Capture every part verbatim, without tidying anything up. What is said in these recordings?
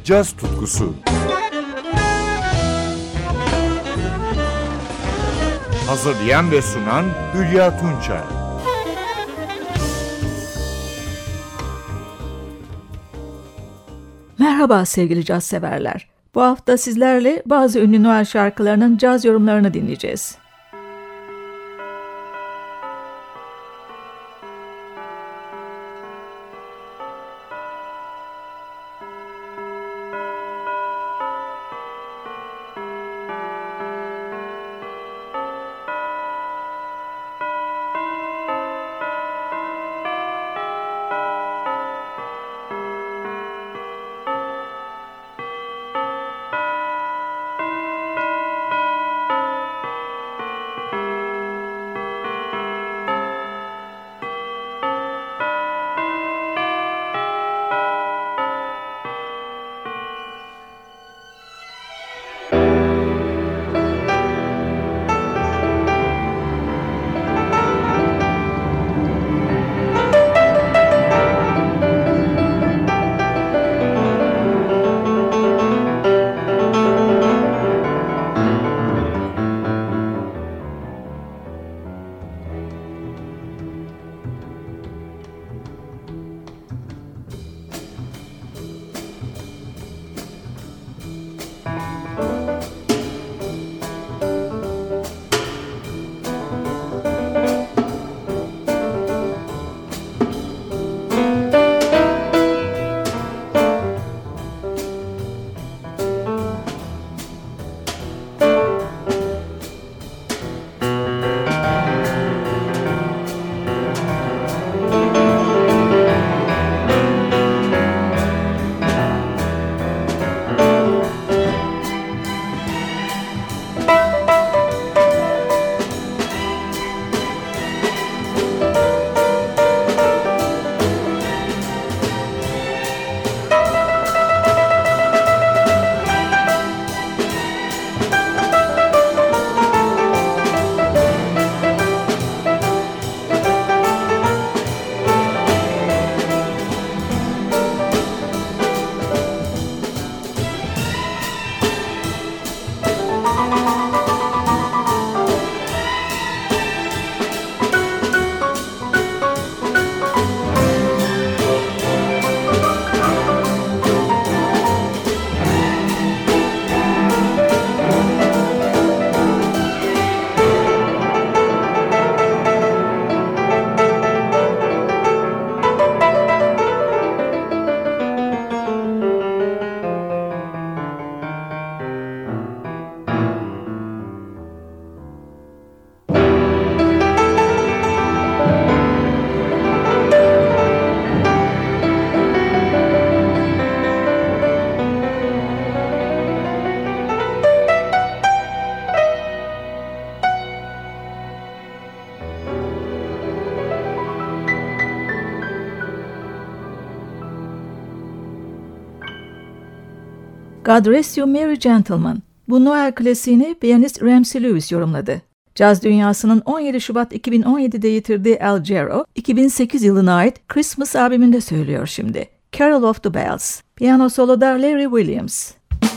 caz tutkusu. Hazırlayan ve sunan Hülya Tunçay. Merhaba sevgili caz severler. Bu hafta sizlerle bazı ünlü Noel şarkılarının caz yorumlarını dinleyeceğiz. God Rest You Merry Gentlemen. Bu Noel klasiğini piyanist Ramsey Lewis yorumladı. Caz dünyasının on yedi Şubat iki bin on yedi'de yitirdiği Al Jarreau, iki bin sekiz yılına ait Christmas albümünde söylüyor şimdi. Carol of the Bells. Piyano soloda Larry Williams.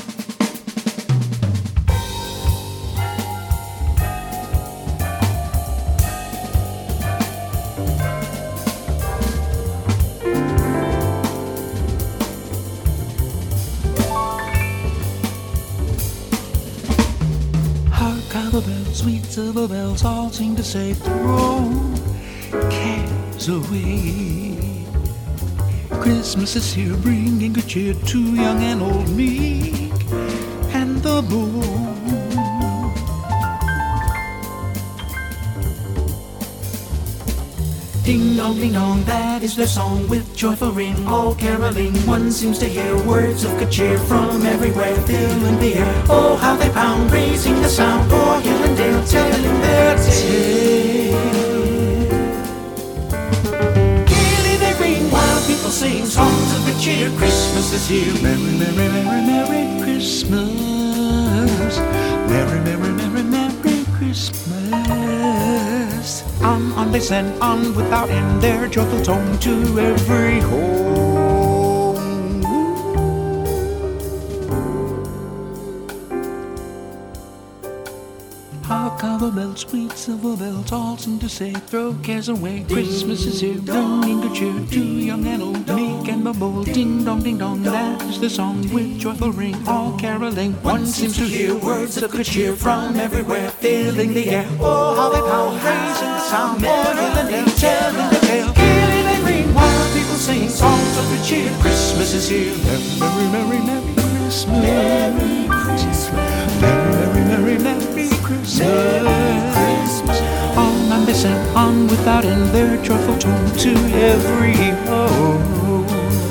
Silver bells, sweet silver bells, all seem to say throw cares away. Christmas is here, bringing good cheer to young and old, meek and the bold. Ding dong, ding dong, that is their song with joyful ring, all caroling. One seems to hear words of good cheer from everywhere, filling the air. Oh, how they pound, raising the sound, o'er hill and dale, telling their tale. Gaily they ring, while people sing songs of good cheer. Christmas is here, merry, merry, merry, merry Christmas. Merry, merry, merry, merry Christmas. On, on they send, on without end, their joyful tone to every home. silver bells, sweet silver bells, all seem to say, throw cares away. Christmas is here, bringing good cheer to young and old, meek and bold. Ding dong, ding dong, that is the song with joyful ring, all caroling. One seems to hear words of good cheer from everywhere, filling the air. Oh, how they pound, raising the sound, more than they telling the tale. Healing and ring, while people sing songs of good cheer. Christmas is here, merry, merry, merry Christmas. Merry Christmas. Merry, merry, merry Christmas. On and they sang on without end their joyful tone to every home.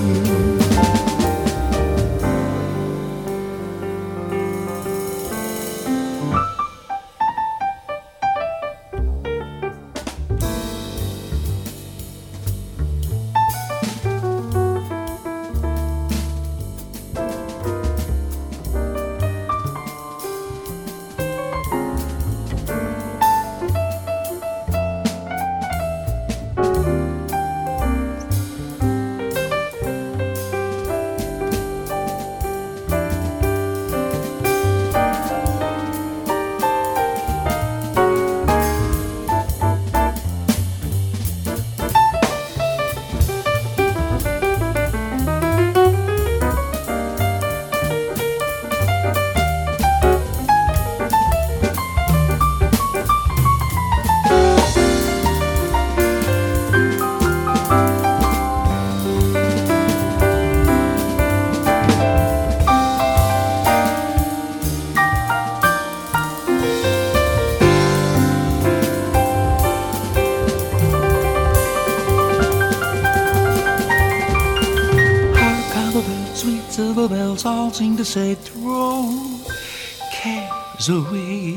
Silver bells all seem to say, throw cares away.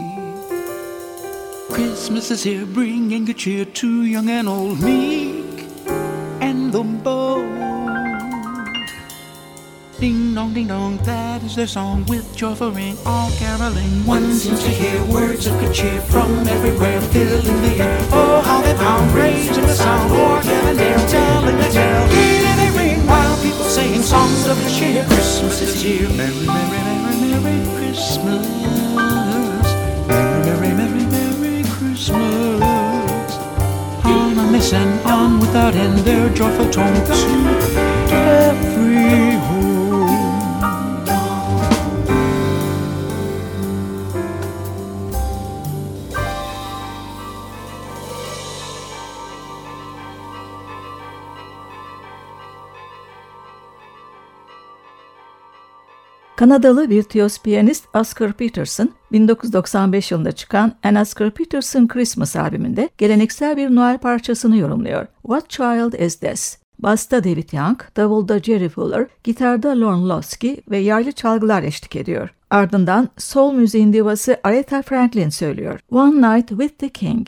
Christmas is here, bringing good cheer to young and old, meek and the bold. Ding dong, ding dong, that is their song with joyful ring, all caroling. One seems to hear words of good cheer from everywhere, filling the air. Oh, how they pound, raising the sound, organ and air, telling the tale. Hearing they ring, while people sing songs of good cheer. Christmas is here, merry, merry, merry, merry Christmas. Merry, merry, merry, merry Christmas. On and they sang on without end their joyful tone to every home. Kanadalı virtüöz piyanist Oscar Peterson, bin dokuz yüz doksan beş yılında çıkan An Oscar Peterson Christmas albümünde geleneksel bir Noel parçasını yorumluyor. What Child Is This? Basta David Young, davulda Jerry Fuller, gitarda Lorne Lusky ve yaylı çalgılar eşlik ediyor. Ardından soul müziğin divası Aretha Franklin söylüyor. One Night with the King.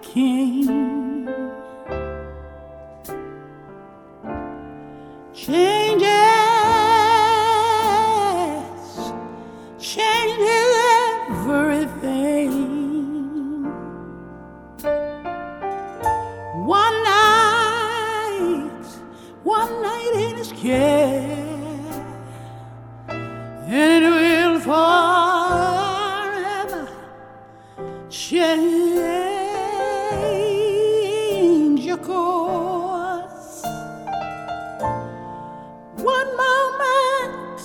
king. Changes, changes everything. One night, one night in his care, and it will forever change your course. One moment,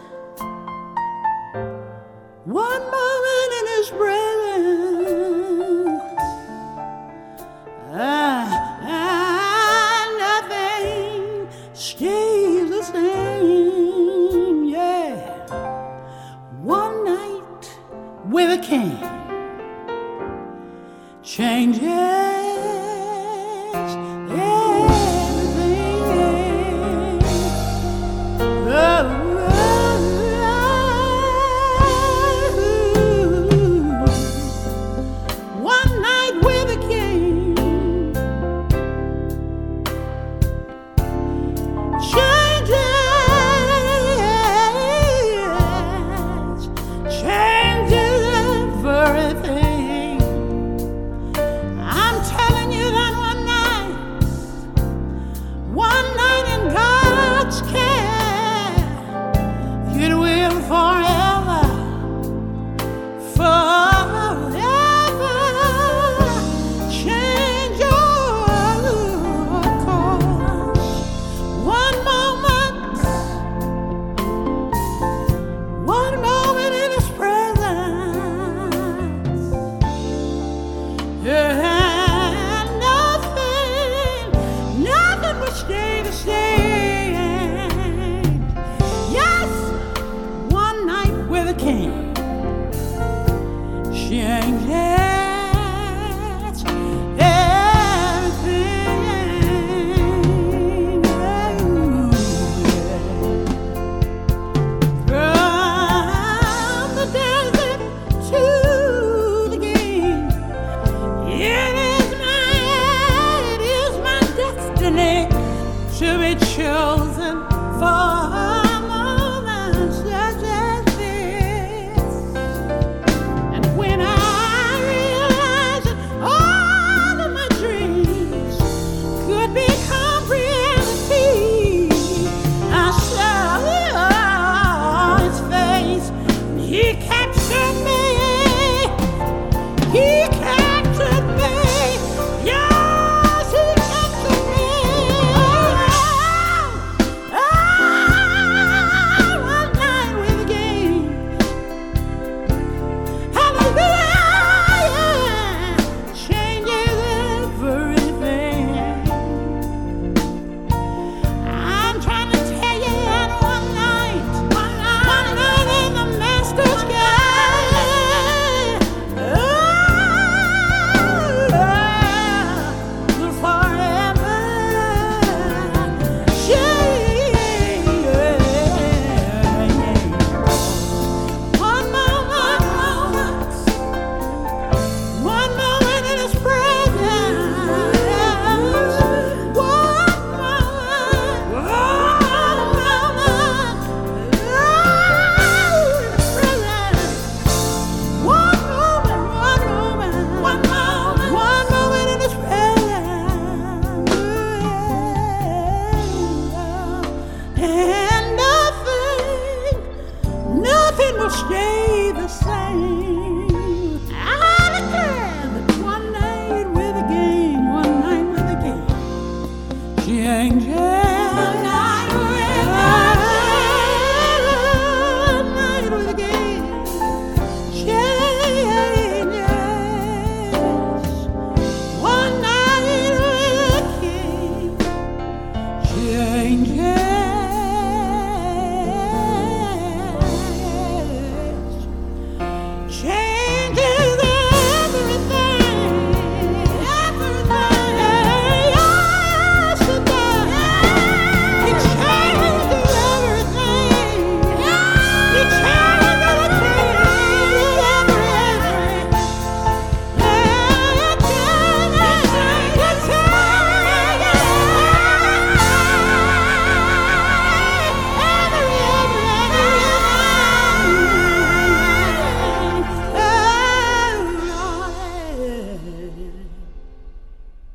one moment in his presence, ah, ah, nothing stays the same, yeah. One night with a king changes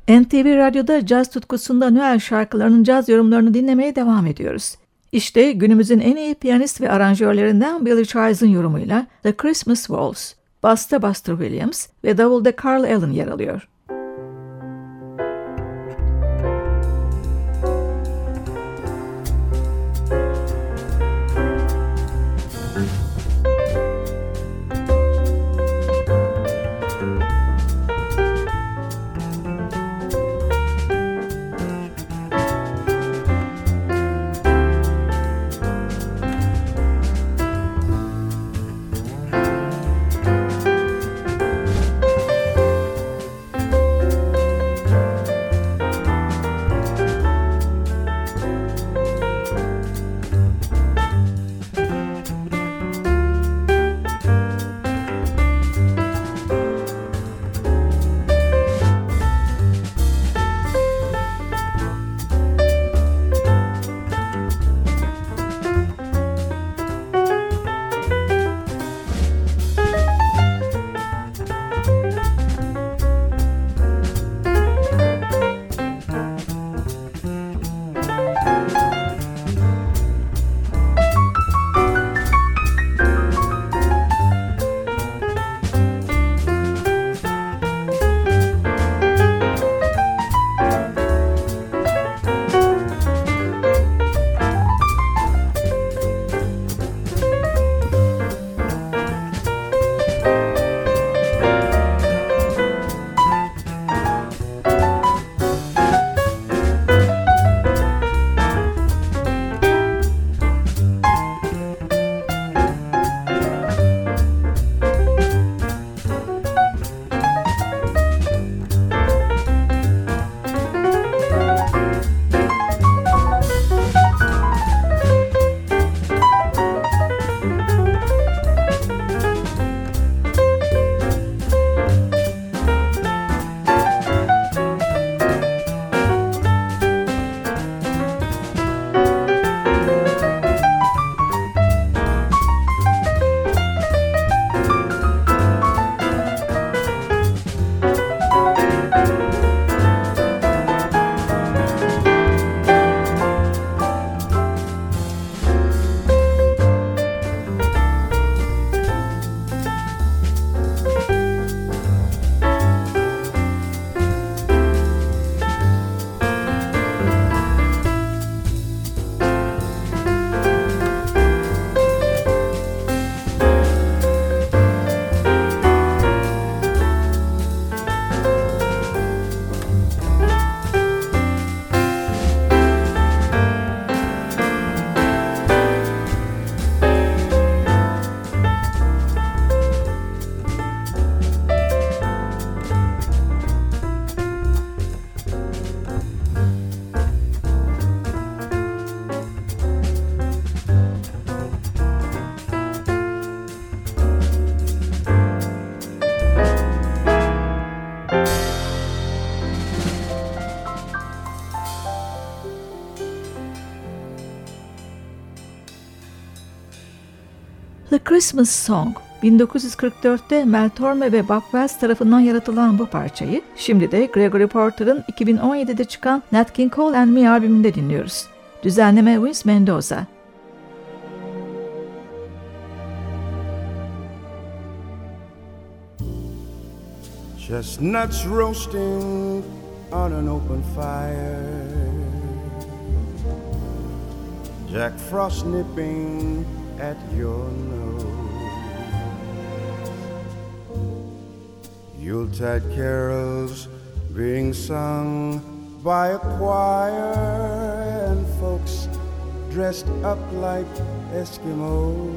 N T V Radyo'da caz tutkusunda Noel şarkılarının caz yorumlarını dinlemeye devam ediyoruz. İşte günümüzün en iyi piyanist ve aranjörlerinden Billy Childs'ın yorumuyla The Christmas Waltz. Basta Buster Williams ve davulda Carl Allen yer alıyor. The Christmas Song, bin dokuz yüz kırk dörtte Mel Torme ve Bob Wells tarafından yaratılan bu parçayı, şimdi de Gregory Porter'ın iki bin on yedide çıkan Nat King Cole and Me albümünde dinliyoruz. Düzenleme Vince Mendoza. Chestnuts roasting on an open fire, Jack Frost nipping at your nose, Yuletide carols being sung by a choir, and folks dressed up like Eskimos.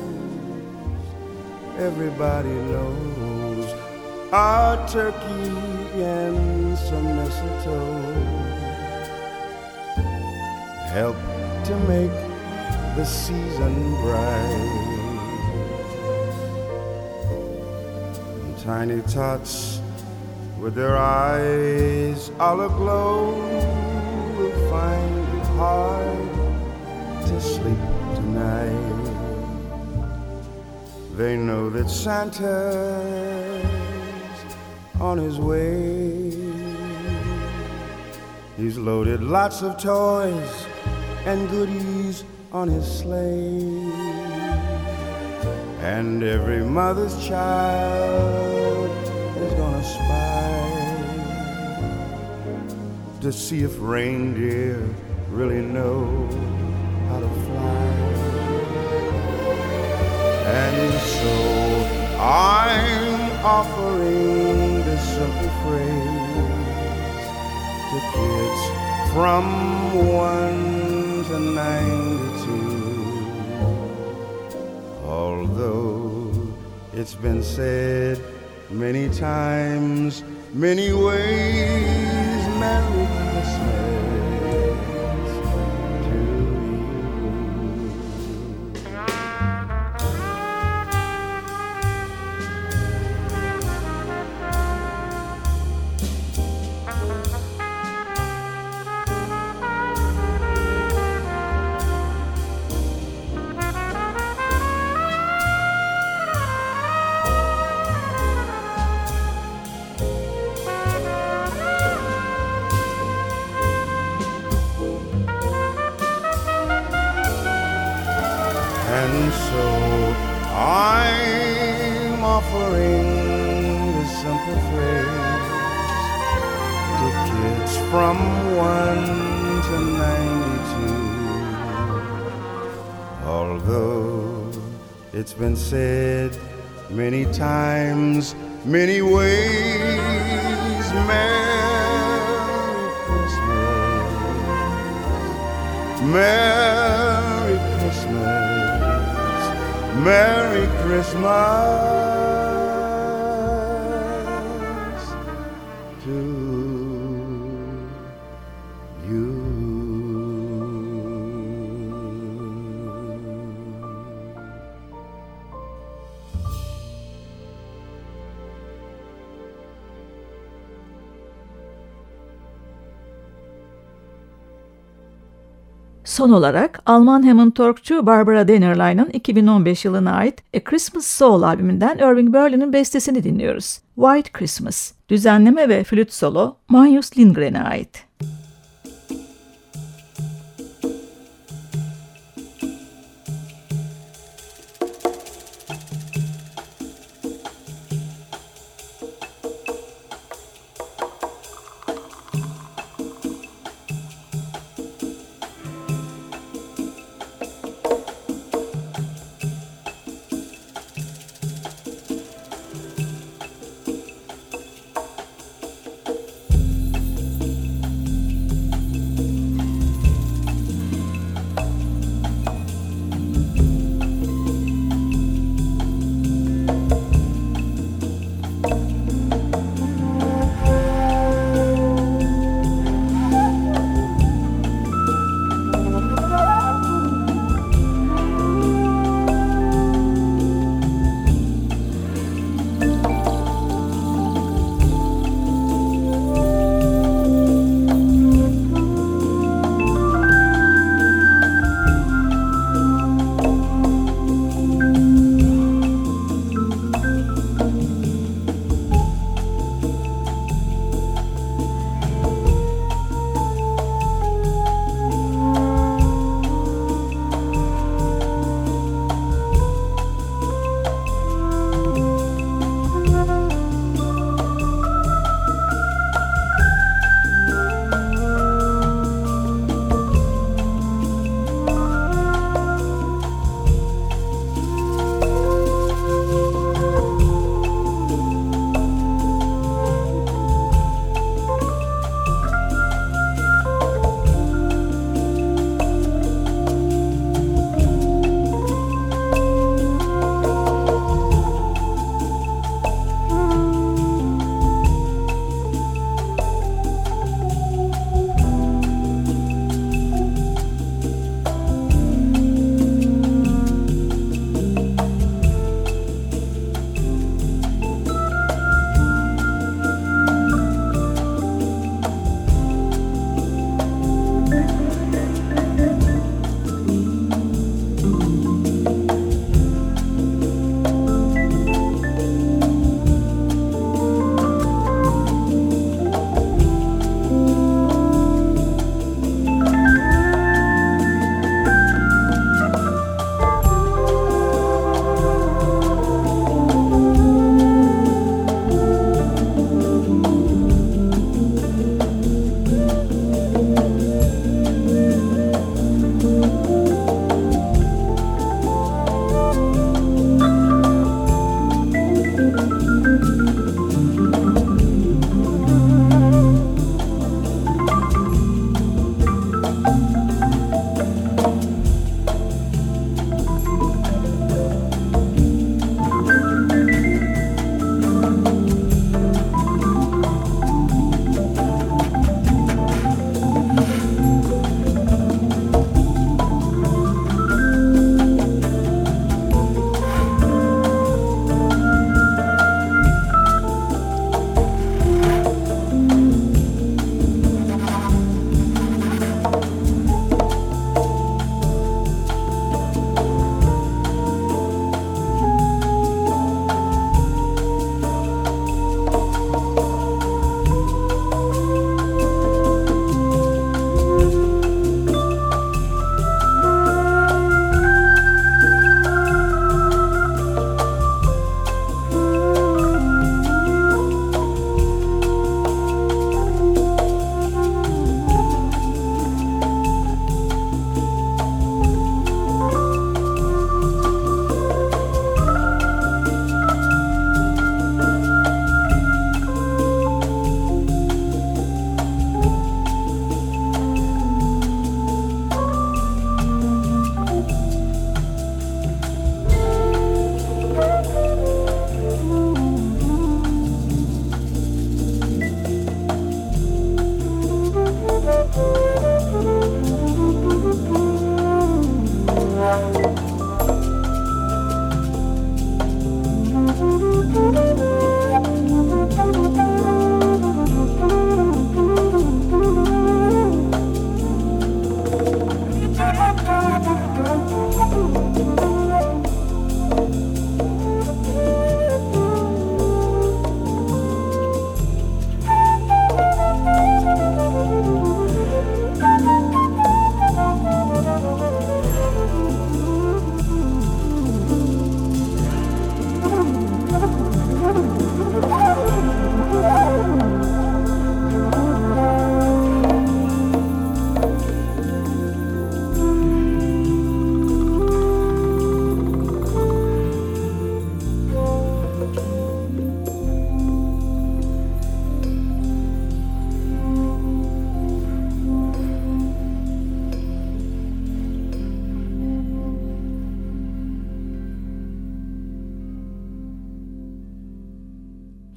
Everybody knows a turkey and some mistletoe help to make the season bright. And tiny tots with their eyes all aglow will find it hard to sleep tonight. They know that Santa's on his way. He's loaded lots of toys and goodies on his sleigh, and every mother's child is gonna spy to see if reindeer really know how to fly. And so I'm offering this simple phrase to kids from one to ninety-two. Although it's been said many times, many ways, Merry Christmas to you. And so I'm offering this simple phrase to kids from one to ninety-two. Although it's been said many times, many ways, Merry Christmas, Merry Christmas, Merry Christmas to you. Son olarak Alman Hammond-Torkçu Barbara Dennerlein'ın iki bin on beş yılına ait A Christmas Soul albümünden Irving Berlin'in bestesini dinliyoruz. White Christmas. Düzenleme ve flüt solo Magnus Lindgren'e ait.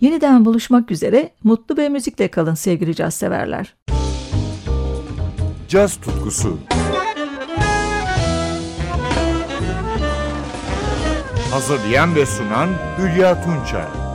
Yeniden buluşmak üzere, mutlu ve müzikle kalın sevgili caz severler. Caz tutkusu. Hazırlayan ve sunan Hülya Tunçay.